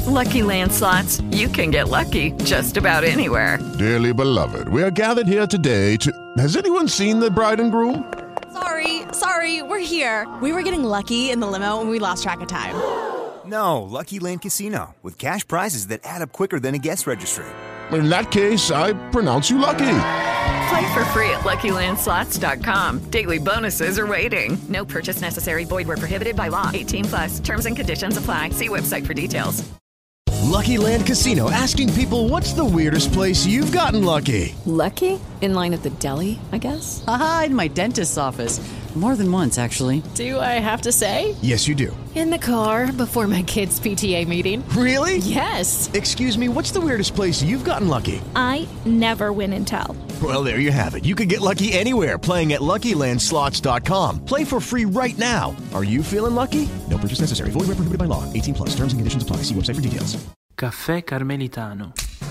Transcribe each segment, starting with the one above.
Lucky Land Slots, you can get lucky just about anywhere. Dearly beloved, we are gathered here today to... Has anyone seen the bride and groom? Sorry, we're here. We were getting lucky in the limo and we lost track of time. No, Lucky Land Casino, with cash prizes that add up quicker than a guest registry. In that case, I pronounce you lucky. Play for free at LuckyLandSlots.com. Daily bonuses are waiting. No purchase necessary. Void where prohibited by law. 18+. Terms and conditions apply. See website for details. Lucky Land Casino, asking people, what's the weirdest place you've gotten lucky? Lucky? In line at the deli, I guess? Aha, in my dentist's office. More than once, actually. Do I have to say? Yes, you do. In the car before my kids' PTA meeting. Really? Yes. Excuse me, what's the weirdest place you've gotten lucky? I never win and tell. Well, there you have it. You can get lucky anywhere, playing at LuckyLandSlots.com. Play for free right now. Are you feeling lucky? No purchase necessary. Void where prohibited by law. 18+. Terms and conditions apply. See website for details. Caffè Carmelitano.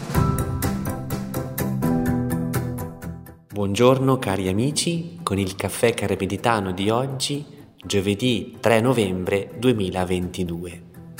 Buongiorno cari amici, con il caffè carmelitano di oggi, giovedì 3 novembre 2022.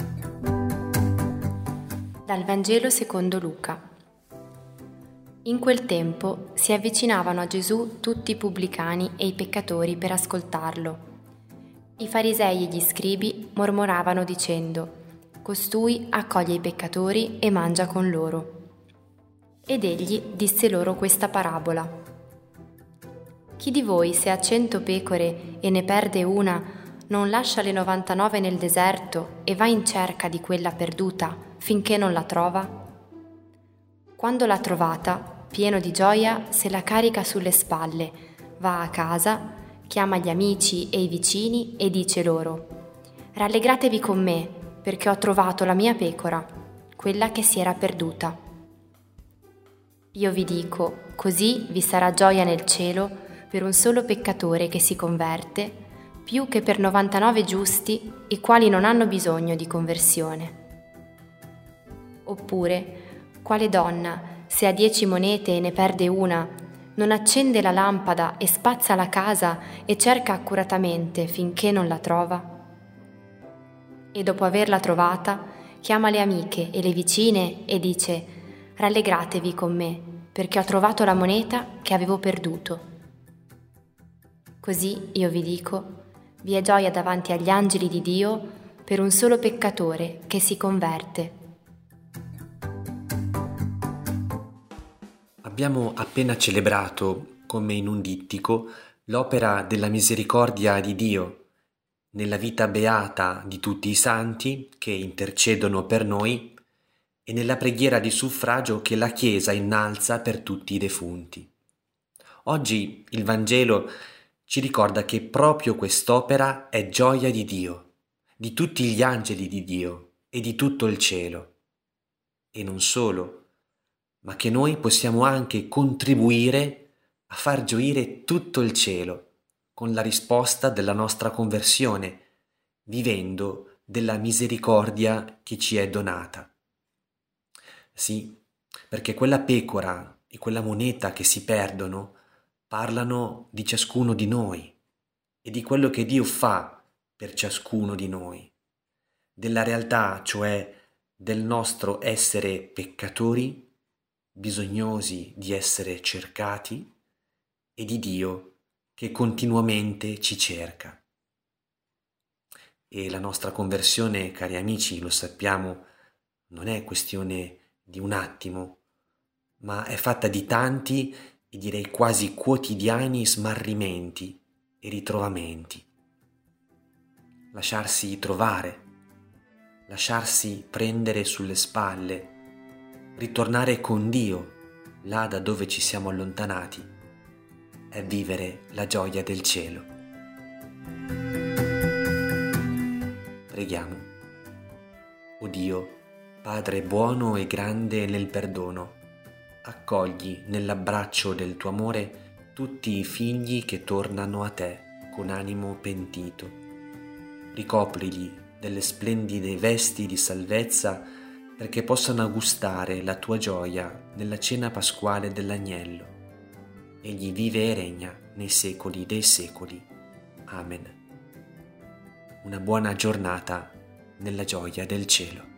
Dal Vangelo secondo Luca. In quel tempo si avvicinavano a Gesù tutti i pubblicani e i peccatori per ascoltarlo. I farisei e gli scribi mormoravano dicendo: «Costui accoglie i peccatori e mangia con loro». Ed egli disse loro questa parabola. Chi di voi, se ha 100 pecore e ne perde una, non lascia le 99 nel deserto e va in cerca di quella perduta finché non la trova? Quando l'ha trovata, pieno di gioia, se la carica sulle spalle, va a casa, chiama gli amici e i vicini e dice loro: «Rallegratevi con me, perché ho trovato la mia pecora, quella che si era perduta». Io vi dico, così vi sarà gioia nel cielo per un solo peccatore che si converte, più che per 99 giusti, i quali non hanno bisogno di conversione. Oppure, quale donna, se ha 10 monete e ne perde una, non accende la lampada e spazza la casa e cerca accuratamente finché non la trova? E dopo averla trovata, chiama le amiche e le vicine e dice: «Rallegratevi con me, perché ho trovato la moneta che avevo perduto». Così, io vi dico, vi è gioia davanti agli angeli di Dio per un solo peccatore che si converte. Abbiamo appena celebrato, come in un dittico, l'opera della misericordia di Dio nella vita beata di tutti i santi che intercedono per noi e nella preghiera di suffragio che la Chiesa innalza per tutti i defunti. Oggi il Vangelo ci ricorda che proprio quest'opera è gioia di Dio, di tutti gli angeli di Dio e di tutto il cielo. E non solo, ma che noi possiamo anche contribuire a far gioire tutto il cielo con la risposta della nostra conversione, vivendo della misericordia che ci è donata. Sì, perché quella pecora e quella moneta che si perdono parlano di ciascuno di noi e di quello che Dio fa per ciascuno di noi, della realtà, cioè del nostro essere peccatori, bisognosi di essere cercati, e di Dio che continuamente ci cerca. E la nostra conversione, cari amici, lo sappiamo, non è questione di un attimo, ma è fatta di tanti e direi quasi quotidiani smarrimenti e ritrovamenti. Lasciarsi trovare, lasciarsi prendere sulle spalle, ritornare con Dio là da dove ci siamo allontanati, è vivere la gioia del cielo. Preghiamo. O Dio, Padre buono e grande nel perdono, accogli nell'abbraccio del tuo amore tutti i figli che tornano a te con animo pentito. Ricoprili delle splendide vesti di salvezza perché possano gustare la tua gioia nella cena pasquale dell'agnello. Egli vive e regna nei secoli dei secoli. Amen. Una buona giornata nella gioia del cielo.